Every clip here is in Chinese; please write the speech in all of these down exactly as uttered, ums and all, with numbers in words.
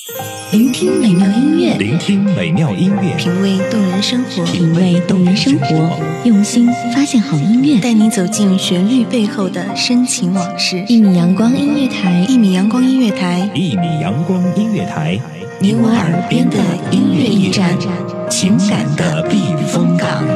聆听美妙音乐， 聆听美妙音乐， 品味动人生活， 品味动人生活，用心发现好音乐， 带你走进旋律背后的深情往事。 一米阳光音乐台， 一米阳光音乐台， 一米阳光音乐台， 你我耳边的音乐驿站，情感的避风港。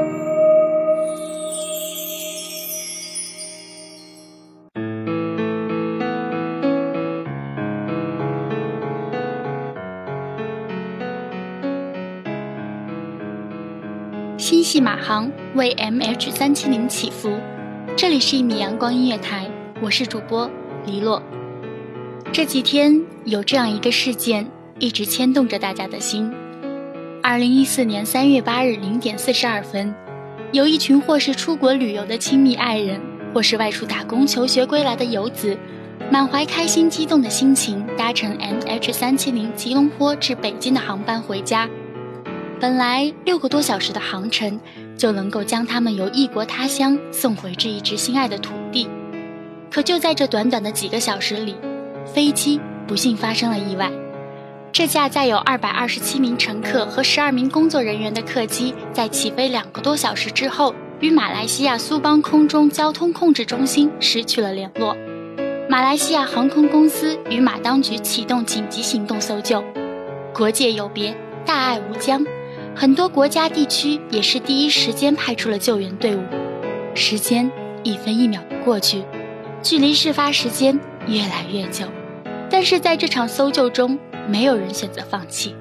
心系马航为 M H 三七零 祈福，这里是一米阳光音乐台，我是主播黎洛。这几天有这样一个事件一直牵动着大家的心。二零一四年三月八日零点四十二分，有一群或是出国旅游的亲密爱人，或是外出打工求学归来的游子，满怀开心激动的心情，搭乘 M H 三七零 吉隆坡至北京的航班回家。本来六个多小时的航程就能够将他们由异国他乡送回至一直心爱的土地，可就在这短短的几个小时里，飞机不幸发生了意外。这架载有二百二十七名乘客和十二名工作人员的客机，在起飞两个多小时之后，与马来西亚苏邦空中交通控制中心失去了联络。马来西亚航空公司与马当局启动紧急行动搜救。国界有别，大爱无疆，很多国家地区也是第一时间派出了救援队伍。时间一分一秒过去，距离事发时间越来越久，但是在这场搜救中，没有人选择放弃。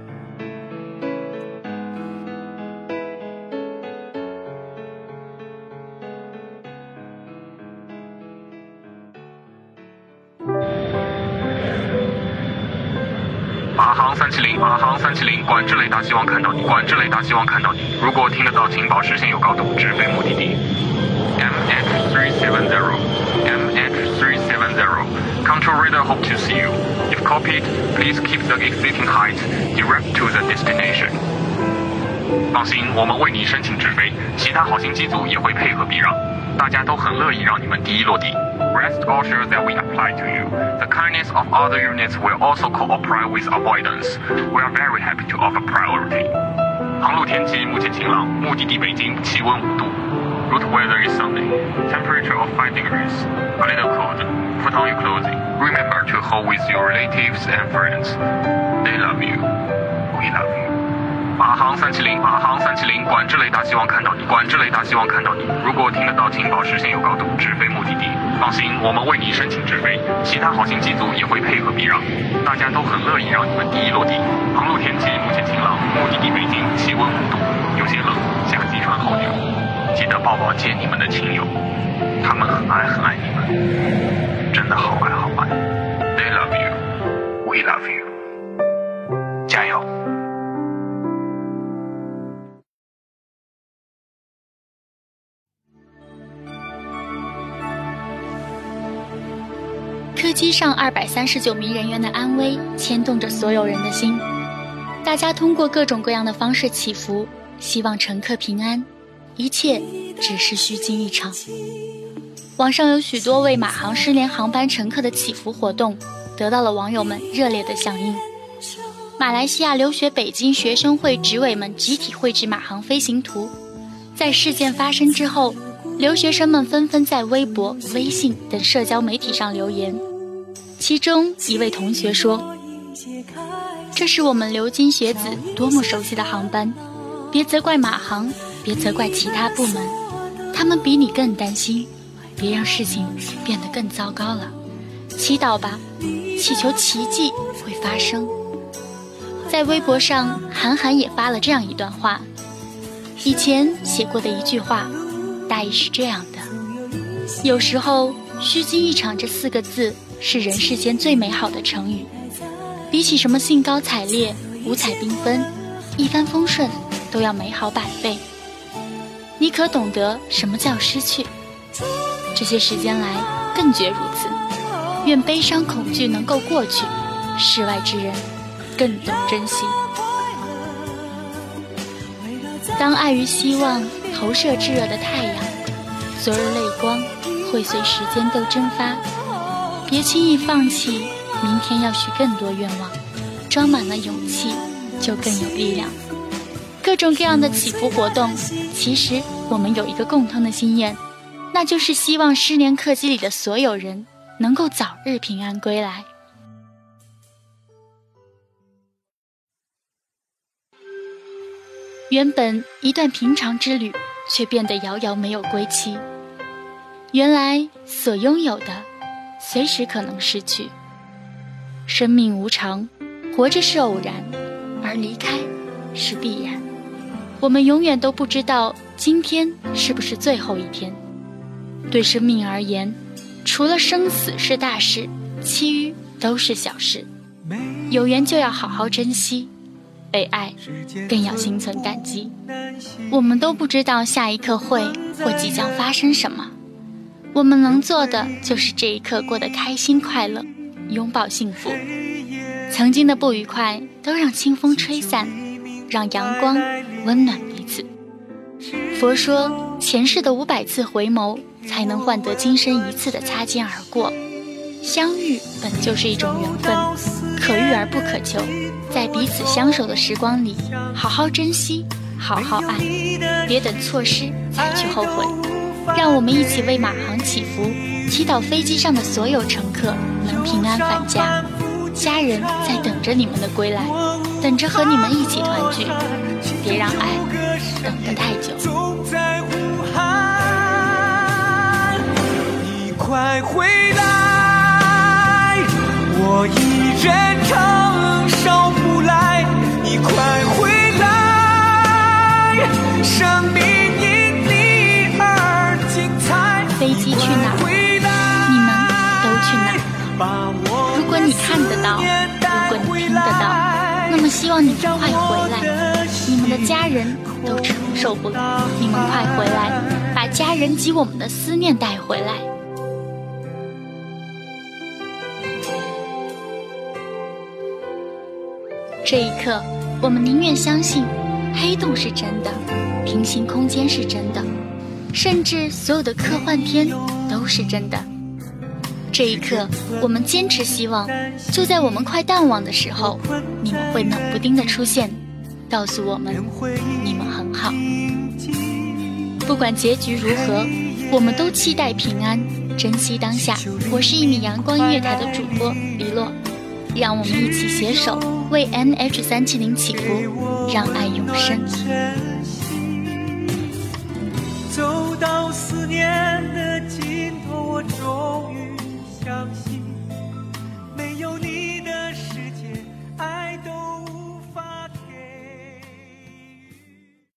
马航三七零，马航三七零，管制雷达希望看到你，管制雷达希望看到你。如果听得到，请保持现有高度，直飞目的地。M H three seven zero, M H three seven zero, control radar hope to see you. If copied, please keep the existing height direct to the destination. 放心，我们为你申请直飞，其他好心机组也会配合避让，大家都很乐意让你们第一落地。Rest assured that we apply to you. The kindness of other units will also cooperate with avoidance. We are very happy to offer priority. 航路天气目前晴朗，目的地北京，气温五度。Route weather is sunny. Temperature of five degrees. A little cold. Put on your clothing. Remember to hold with your relatives and friends. They love you. We love you. 马航三七零，马航三七零，管制雷达希望看到你，管制雷达希望看到你。如果听得到，请保持现有高度，直飞目的地。放心，我们为你申请直飞，其他好心机组也会配合避让，大家都很乐意让你们第一落地。航路天气目前晴朗，目的地北京，气温五度，有些冷，下机穿厚牛。记得抱抱接你们的亲友，他们很爱很爱你们，真的好爱好爱。They love you, we love you. 加油！ 客机上二百三十九名人员的安危牵动着所有人的心，大家通过各种各样的方式祈福，希望乘客平安，一切只是虚惊一场。网上有许多为马航失联航班乘客的祈福活动，得到了网友们热烈的响应。马来西亚留学北京学生会执委们集体绘制马航飞行图，在事件发生之后，留学生们纷纷在微博、微信等社交媒体上留言。其中一位同学说，这是我们留京学子多么熟悉的航班，别责怪马航，别责怪其他部门，他们比你更担心，别让事情变得更糟糕了。祈祷吧，祈求奇迹会发生。在微博上，韩寒也发了这样一段话，以前写过的一句话，大意是这样的：有时候虚惊一场这四个字是人世间最美好的成语，比起什么兴高采烈、五彩缤纷、一帆风顺都要美好百倍。你可懂得什么叫失去？这些时间来更觉如此。愿悲伤恐惧能够过去，世外之人更懂珍惜。当爱与希望投射炙热的太阳，昨日泪光会随时间都蒸发。别轻易放弃，明天要许更多愿望。 装满了勇气，就更有力量。各种各样的祈福活动，其实我们有一个共同的心愿，那就是希望失联客机里的所有人能够早日平安归来。原本一段平常之旅，却变得遥遥没有归期。原来所拥有的随时可能失去。生命无常，活着是偶然，而离开是必然。我们永远都不知道今天是不是最后一天。对生命而言，除了生死是大事，其余都是小事。有缘就要好好珍惜，被爱更要心存感激。我们都不知道下一刻会或即将发生什么，我们能做的就是这一刻过得开心快乐，拥抱幸福。曾经的不愉快都让清风吹散，让阳光温暖彼此。佛说前世的五百次回眸，才能换得今生一次的擦肩而过。相遇本就是一种缘分，可遇而不可求。在彼此相守的时光里，好好珍惜，好好爱，别等错失才去后悔。让我们一起为马航祈福，祈祷飞机上的所有乘客能平安返家，家人在等着你们的归来，等着和你们一起团聚。别让爱等得太久。 你快回来，我一人承受不来，你快回来，生命因你而精彩。 飞机去哪儿，你们都去哪儿。如果你看得到，如果你听得到，那么希望你们快回来。你们的家人都承受不了，你们快回来，把家人及我们的思念带回来。这一刻，我们宁愿相信黑洞是真的，平行空间是真的，甚至所有的科幻片都是真的。这一刻，我们坚持希望，就在我们快淡忘的时候，你们会冷不丁的出现，告诉我们你们很好。不管结局如何，我们都期待平安，珍惜当下。我是一米阳光音乐台的主播黎洛，让我们一起携手为 N H 三七零祈福，让爱永生。 走到思念的尽头，我终于相信